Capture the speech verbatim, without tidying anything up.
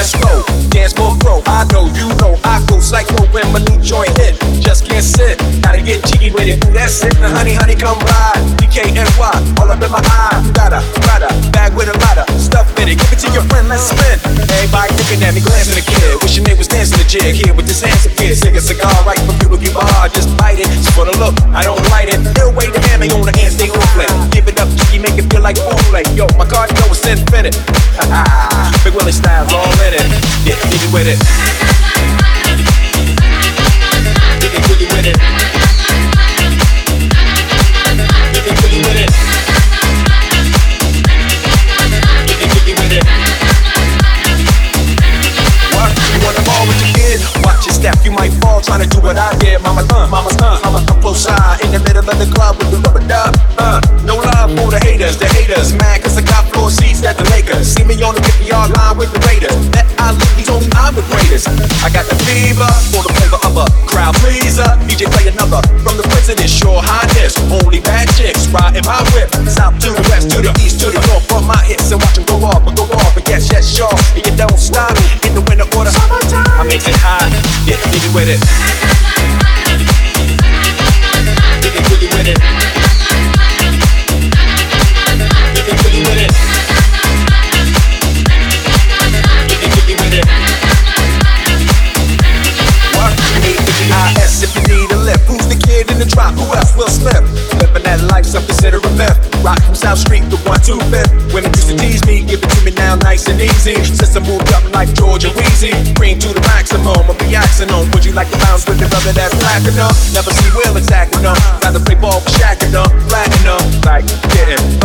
let's go. Dance more pro, I know, you know, I go psycho when my new joint hit. Just can't sit, gotta get cheeky with it. That's it, now honey, honey, come ride. D K N Y, all up in my eye. Got a Prada, bag with a lot of stuff in it. Give it to your friend, let's spin. Everybody looking at me, glancing a kid. Wishing they was dancing a jig here with this handsome kid. Sick a cigar right from Cuba Bar, just bite it. It's for the look, I don't light it. They'll wait the hammer on the hand, stay on play. Give it up, cheeky, make it feel like foreplay. Yo, my cardio is infinite. Big Willie style's all in it. Yeah, dig it with it. Dig it, dig it with it. Dig it, dig it with it. Dig it, dig it with it. What? You wanna ball with your kid? Watch your step, you might fall trying to do what I did. Mama, uh, mama's uh, mama come close side in the middle of the club with the rubber dub. Uh, no love for the haters, the haters mad cause I got floor seats at the Lakers. See me on the fifty-yard line with the Raiders. That I live, he told me I'm the greatest. I got the fever for the flavor of a crowd pleaser. D J play another from the president, sure highness. Only bad chicks riding my whip. South to the west, to the east, to the north. From my hips and watch them go off and go off. And yes, yes, sure, and you don't stop in the winter order. I make it high, yeah, dig it with it. Dig it, dig it with it. Dig it, dig it with it. Dig it, dig it with it. What? eight fifty I S if you need a lift. Who's the kid in the drop? Who else will slip? Living that life, some consider a myth. Rock from South Street to one two fifth. Women used to tease me, give it to me now nice and easy. Since I moved up like Georgia Wheezy, cream to the maximum, I'll be axing on. Would you like to bounce with the brother that's platinum? Never see Will attacking them. Rather play ball with Shaq and them, platinum. Like, getting